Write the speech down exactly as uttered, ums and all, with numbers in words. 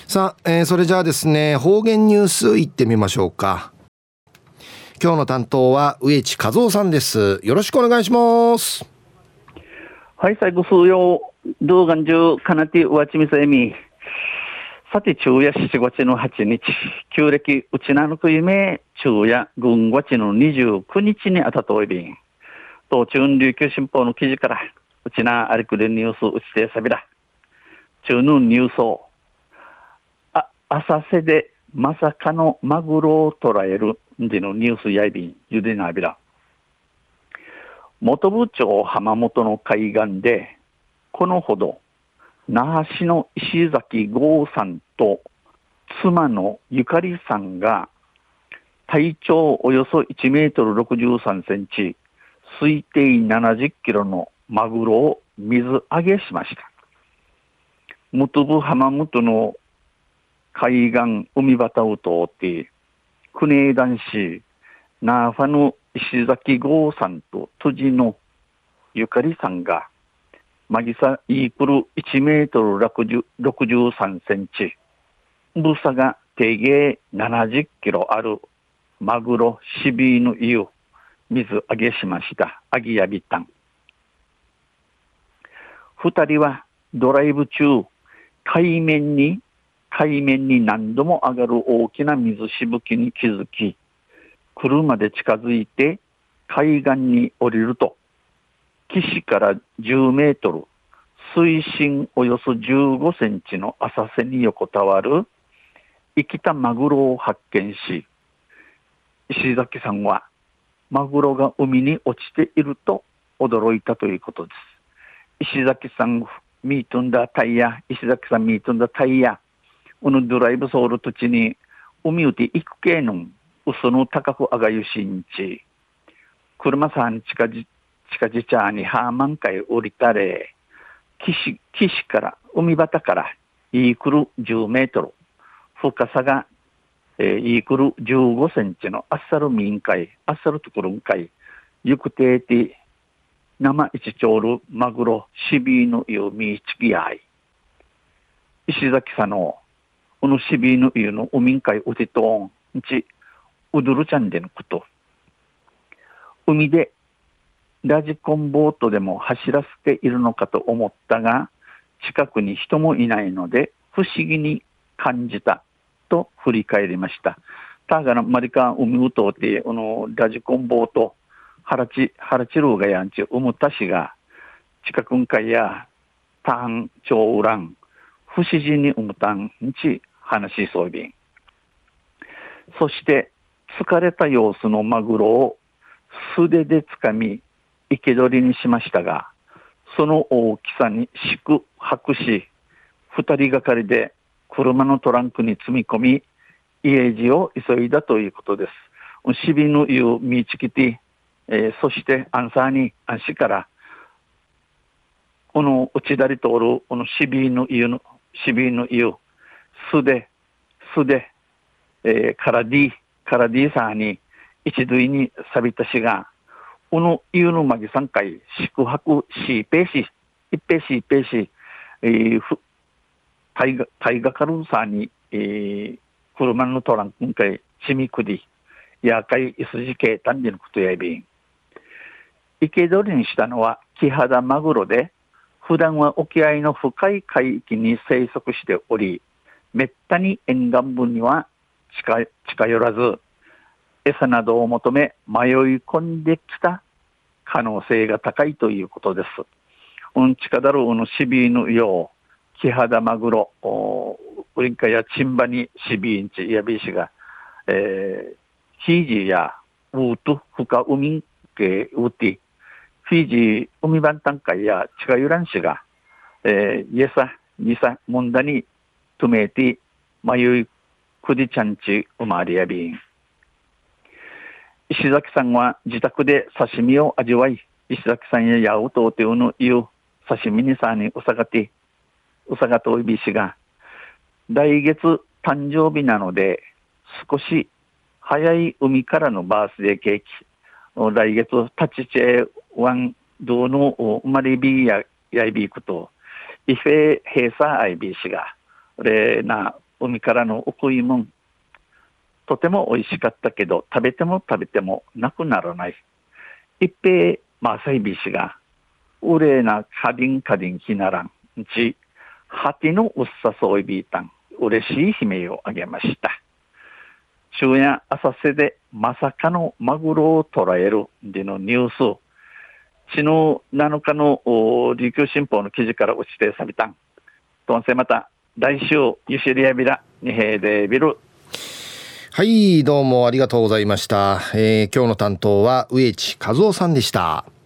さあ、えー、それじゃあですね、方言ニュースいってみましょうか。今日の担当は植地和夫さんです。よろしくお願いします。 はい、最後数曜動画中かなてうわちみさえみさて昼夜しちがつのはちにち旧暦うちなのく夢昼夜軍がちのにじゅうくにちにあたといびん東中琉球新報の記事からうちなありくでニュースうちてさびら中のニュースをあ浅瀬でまさかのマグロを捕らえるんでのニュースやいびんゆでなびら本部町浜本の海岸でこのほど那覇市の石崎剛さんと妻のゆかりさんが体長およそいちメートルろくじゅうさんセンチ推定ななじゅっキロのマグロを水揚げしました。本部浜本の海岸海端を通って国枝市那覇の石崎剛さんと辻のゆかりさんがマギサイークルいちメートルろくじゅうさんセンチ重さが定芸ななじゅっキロあるマグロシビーヌイを水揚げしました。アギヤビタン二人はドライブ中海面に海面に何度も上がる大きな水しぶきに気づき車で近づいて海岸に降りると岸からじゅうメートル水深およそじゅうごセンチの浅瀬に横たわる生きたマグロを発見し石崎さんはマグロが海に落ちていると驚いたということです。石崎さんミートンダタイヤ石崎さんミートンダタイヤこのドライブソール土地に海うて行く系の嘘の高く上がゆしんち車さん近じ近じちゃにハーマン海降りたれ岸岸から海端からイークルじゅうメートル深さが、えー、イークルじゅうごセンチのアッサル民海アッサルところん海行くてーて生一丁るマグロシビーの湯みちきあい石崎さんのこのシビーの湯の海海うてとんちうどるちゃんでのこと海でラジコンボートでも走らせているのかと思ったが近くに人もいないので不思議に感じたと振り返りました。たがなマリカン海うとうてこのラジコンボートハラチハラチルーがやんちうむたしが近くんかいやターンチョウラン不思議にうむたんち話しそうびんそして疲れた様子のマグロを素手でつかみ生け捕りにしましたがその大きさに四苦八苦し二人がかりで車のトランクに積み込み家路を急いだということです。シビの湯を見つけて、えー、そしてアンサーに安心からこの内だり通るこのシビの湯のシビの湯素手素手、えー、カラディカラディさんに一塁に錆びたしがこの湯のまぎさんかい宿泊しペーシ一ペーシ一ペーシ、えー、タイガタイガカルンさんに、えー、車のトランクんかいちみくりやかいいすじけたんでのことやいびん生け捕りにしたのはキハダマグロで普段は沖合の深い海域に生息しておりめったに沿岸部には近近寄らず餌などを求め迷い込んできた可能性が高いということです。うんちかだるうのシビーのようキハダマグロウリンカやチンバにシビーンチやビーシが、えー、フィージーやウート深海系ウーティフィージー海番単会や近寄らんしが、えー、イエサニサモンダにトメーティ迷いくdiちゃんち生まれやびん石崎さんは自宅で刺身を味わい石崎さんやヤウトウテウのいう刺身にさにうさがてうさがといびしが来月誕生日なので少し早い海からのバースデーケーキ来月タチチェワンドの生まれびややいびくとイフェヘーサーアイビーシがれな海からのお食いもん。とても美味しかったけど、食べても食べてもなくならない。一平、マサイビシが、うれなカディンカディンひならん。ち、ハティのうっさそういびいたん。嬉しい悲鳴をあげました。昼夜浅瀬でまさかのマグロを捕らえるでのニュース。昨日なのかの琉球新報の記事から打ち定されたん。とんせまた来週ゆしりやびらにへいでビル。 はい、どうもありがとうございました。えー、今日の担当は植地和夫さんでした。